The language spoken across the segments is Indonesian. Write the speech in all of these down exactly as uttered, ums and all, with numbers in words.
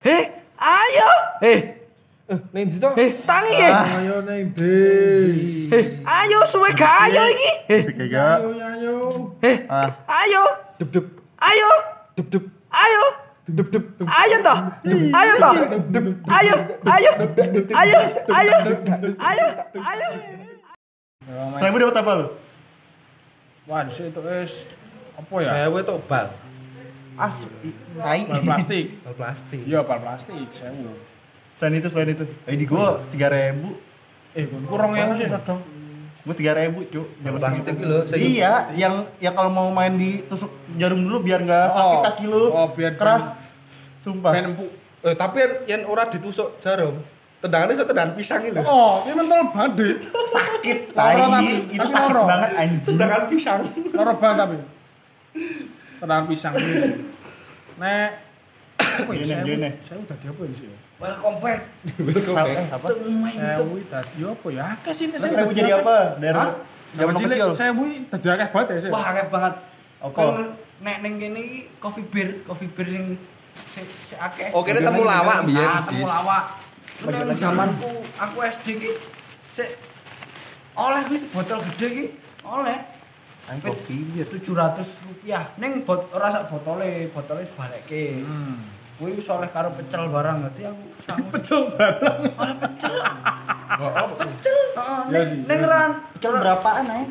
Heh, ayo. Heh. Ning ndi to? Heh, tangi e. Ayo ning ndi. Heh, ayo suwe gak ayo iki. Heh. Ayo ayo. Heh. Ayo. Dup dup. Ayo. Dup dup. Ayo. Dup dup. Ayo toh. Ayo toh. Ayo. Ayo. Ayo. Ayo. Ayo. Ayo. Seribu dapat apa lu? Wah, itu es apa ya? Sewu itu bal. As, tai. Bal plastik. Bal plastik. Iya, bal plastik, sewu. Selain itu, selain itu. Eh di gua tiga ribu. Eh, kurang yang sih sodong. Gua tiga ribu, Cuk. Bal plastik itu loh. Iya, yang yang kalau mau main ditusuk jarum dulu biar enggak Oh. sakit kaki lu. Oh, biar keras. Sumpah. Ben empuk. Eh, tapi yang, yang ora ditusuk jarum. Tendangannya so tendangan pisang itu. Oh, ini mentol badhe. Sakit, Loro tai. tapi, Itu tapi sakit loro. banget anjing. Tendangan pisang. Loro banget tapi. Tendangan pisang ini. Nek apa ya? Gini, gini. Saya udah di apa ini sih? Welcome back. Eh, apa? Saya wih tadi apa ya? Akeh sih Terus seribu jadi apa? Dari Hah? zaman Cilik, kecil. saya wih tadi akeh banget ya. Saya. Wah, akeh banget. Apa? Kan nek ning kene iki coffee beer, coffee beer sing sing sing akeh. Oh, kene temu lawak biyen. Ah, temu lawak. Nek zamanku aku S D ki sik oleh wis botol gede ki oleh Kopi biar tujuh ratus rupiah. Ning bot ora sak botole, botole dibalekke. Hmm. Kuwi wis oleh karo pecel barang dadi aku sangu. Pecel barang. Oleh pecel. Oh, Pecel. Heeh, Ya ning sih, ning ya sih. ran Pecel berapaan ae?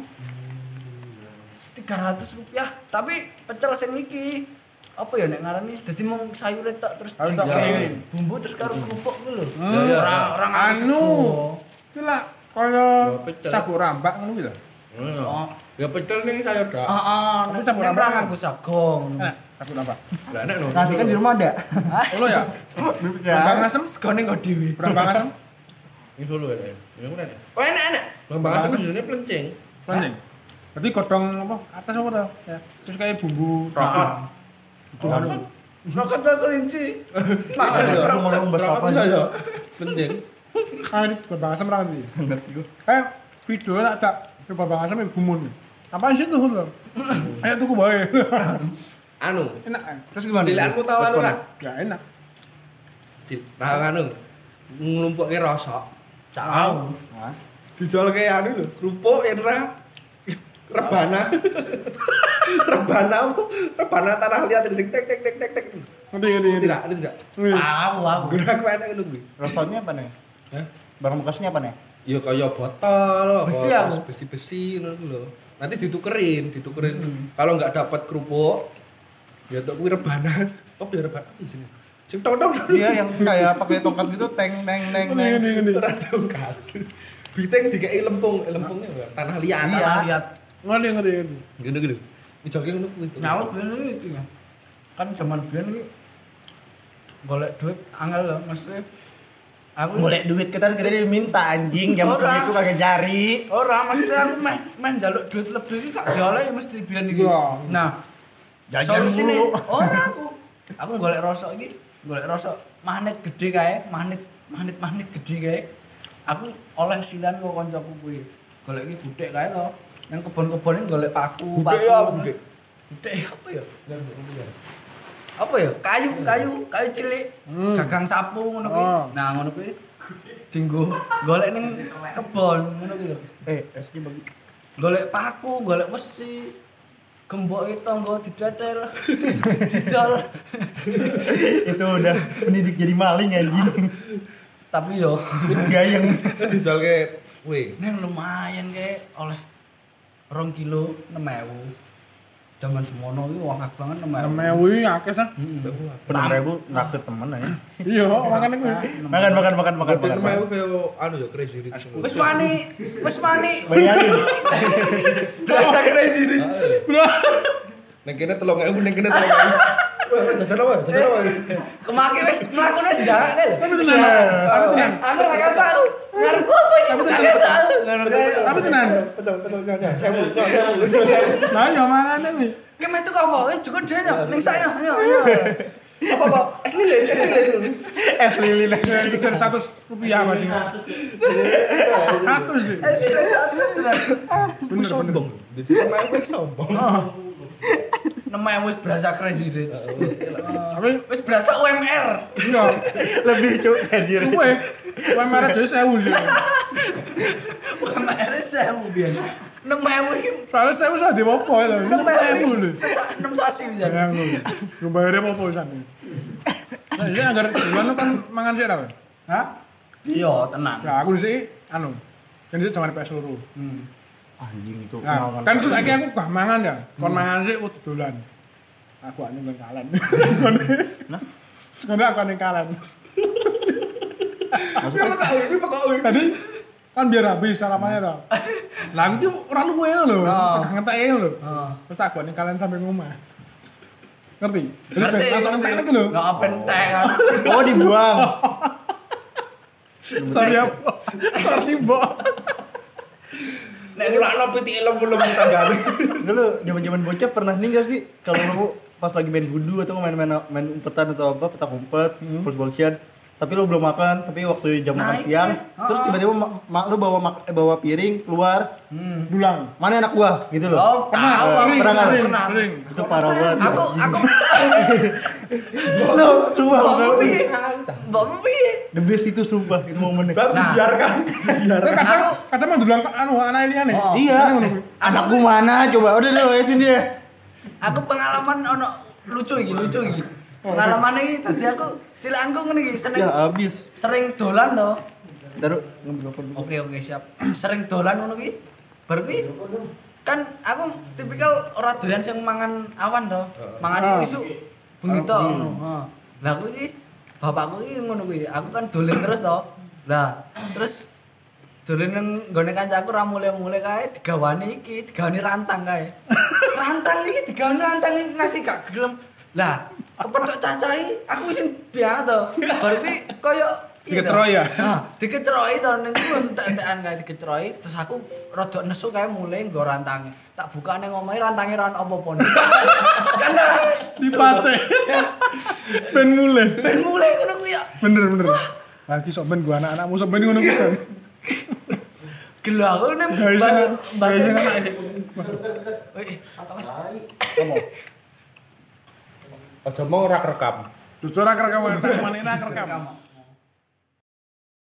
tiga ratus rupiah. Tapi pecel sing iki apa ya nek ngarani dadi mung sayure tok terus Sayur tok, digawe kayak bumbu terus karo kerupuk ku lho. Hmm. Ora ora nganggo Anu. sego. Iki lah kaya Oh, pecel. cabuk rambak ngono ki lho. Oh, ya pecel ning sayur dak. heeh, Tapi nek campur nek ora apa? nganggo sagong. Enak, cabuk rambak. Lah enak no. Nanti kan di rumah ada. Ono ya? Rambak Ya. asem, Segone kok dhewe. rambak asem. Ini Solo ya. Ini mana ya? Oh, enak-enak. Lambang asem sebenarnya plenceng. Planning. Berarti godhong apa? Atas apa to? Ya. Terus kayak bumbu Rokok. Itu anu. Rokok tak kelinci. Aku mau ngomong bahasa apa Rokok aja. ya? Plenceng. Kayak rambak asem ra ngerti. Ngerti gua. Kayak video tak cak ke rambak asem iku gumun. Apaan sih tuh lho? Ayo tuku bae. Anu. Enak. kan? Terus gimana? Cilanku tahu anu ra? Ya enak. Cil, nah anu. Nglumpukke rosok. Tahu. Hah? Dijual kayak anu lho, kerupuk era rebana. rebana apa? Rebana tanah liat sing tek tek tek tek tek. Ngerti ngerti ngerti. Tidak, itu tidak. Tahu aku. Guna aku enak ngono kuwi. Rasanya apa nih? Hah? Barang bekasnya apa nih? Ya kaya botol, Besi apa, aku. besi-besi ngono lho. Nanti ditukerin, ditukerin. Hmm. Kalau enggak dapat kerupuk, ya tok kuwi rebana. Oh, biar rebana di sini. Sing tong-tong. Iya yang kayak pakai tongkat gitu teng teng teng teng. Ora tongkat. Biteng dikei lempung, eh, lempungnya apa? Tanah liat. Tanah liat. Ngerti ngerti ngerti. Ngono gitu. Dijoki ngono kuwi. Nyawa biyen iki ya. Kan zaman biyen iki golek duit angel lho, mesti aku Boleh duit kita kita diminta anjing jam Ora. segitu kagak cari. ora mesti aku meh meh njaluk duit lebih iki gak dioleh mesti biyen iki. Iya. Nah, Jajan solusine mulu. ora aku. Aku golek rosok iki, golek rosok magnet gede kae, magnet magnet-magnet gede kae. Aku oleh silan karo kancaku kuwi. Golek iki gudhek kae to. Nang kebon-kebon iki golek paku, Gudhek paku. ya apa gudhek? Gudhek apa ya? Apa ya? Kayu, kayu, kayu cilik. Hmm. Gagang sapu ngono kuwi. Oh. Nah, ngono kuwi dinggo golek ning kebon ngono kuwi lho. Eh, es ki bagi. Golek paku, golek wesi. Gemboke tangga didatel. Didol. Itu udah pendidik jadi maling anjing. Tapi yo Gayeng. Dijualke kuwi. neng lumayan kayak oleh rong kilo enam ewu. Zaman semono iki akeh banget enam ewu. Emewu iki akeh sah. Enam ribu naktir temen aja. Iya, makane kuwi. Makan makan makan makan Tapi makan. namanya kayak anu ya crazy rich. Wis wani, wis wani. Bayarin. Berasa crazy rich. Bro. Ning kene telung ewu, ning kene telung ewu. Wah, jajan apa? Jajan apa? Kemaki wis mlakune wis ndarek lho. Tapi tenan. Aku ora tahu. Ngarep apa iki? Aku tahu. Ngono kae. Tapi tenan. Betul, betul, enggak, enggak. Sewu, enggak, sewu. Lah yo makane kuwi. Kemen tuh apa? Eh juga dia ning saya. Ayo, ayo. Apa apa? Es lilin, es lilin. Es lilin. Sekitar seratus rupiah Mas. seratus sih. Eh, satu sudah. Bener bener. Sombong. Jadi pemain sombong. Oh. Namanya wis berasa crazy rich. Tapi Wis berasa U M R. iya, Lebih cuk anjir. kuwe kuwe merek dhewe sewu sih. U M R sewu biyen. enam ewu iki Soalnya sewu sudah di apa ya, tapi enam ewu sewu lho. sesak enam sasi bisa. Yang lho. Lu bayarnya apa pisan. Nah, ini agar bulan lu kan mangan sik ta, Pak? Hah? Iya, tenan. Ya aku sih anu. Kan sih jangan P S loro. Hmm. Anjing itu Nah, kan saiki aku gak mangan ya. Kon mangan sik kudu dolan. Aku ane nang kalen. Nah, sekarang aku ane kalen. Maksudnya kok iki pokok Tadi kan biar habis sarapannya toh. Lah aku tuh ora luwe lho, Oh. ngenteke lho. Heeh. Terus tak gone kalian sampai ngomah. Ngerti? Jadi Ngerti, ben langsung ngerti. entek lagi lho. Nggak apa entek kan. Oh dibuang. Sorry apa? Sorry, Mbok. Nek nek ora ono pitik lem-lem tanggane. Enggak lu zaman-zaman bocah pernah nih enggak sih kalau lu pas lagi main gundu atau main-main main umpetan atau apa petak umpet, Hmm. polisi-polisian tapi lu belum makan, tapi waktu jam Nah, makan itu siang, ya. terus Oh. tiba-tiba mak, mak lu bawa mak, eh, bawa piring keluar, Hmm. Pulang. mana anak gua gitu loh. Oh, Pernah, tahu aku sering, pernah nggak? sering, pernah. sering. Itu parah banget. Aku aku lu sumpah, Mbok sumpah. piye? Mbok piye? The best itu sumpah itu momennya. Bab Nah. biarkan. Tapi Biarkan. kadang Aku- kadang mah dulang anu anak liane. Oh. Iya. Kadang ngono kuwi. Anak gua mana coba? Udah deh lu sini dia. Aku pengalaman ono lucu iki, lucu iki. Pengalaman iki dadi aku cilakanku ngene iki seneng Ya habis. sering dolan to. Taruh ngambil telepon dulu. Oke oke siap. Sering dolan ngono ki. Baru ki kan aku tipikal ora doyan sing mangan awan to. Mangan Ah. isu bengi to ngono. Heeh. Lah aku iki bapakku iki ngono kuwi. Aku kan dolen terus to. Lah terus dolen nang nggone kancaku ra mulai-mulai kae digawani iki, digawani rantang kae. Rantang iki digawani rantang iki nasi gak gelem. Lah kepethuk cacahi aku wis biasa to. Baru ki koyo Diketroy ya? Nah, diketroy to ning ku entek-entekan kae diketroy terus aku rada nesu kae mulai nggo rantange. Tak buka ning omahe rantange ra ono apa-apa. Kan Dipace. Ben mulai. ben mulai ngono ku ya. Bener bener. Lagi sok ben gua anak-anakmu sok ben ngono kuwi. Son. Gelo aku ning Guys, bar- bar- guys, anak sih. Wih, apa Mas? Apa? Aja mau ora rekam. Jujur ora kerekam, tak manena kerekam.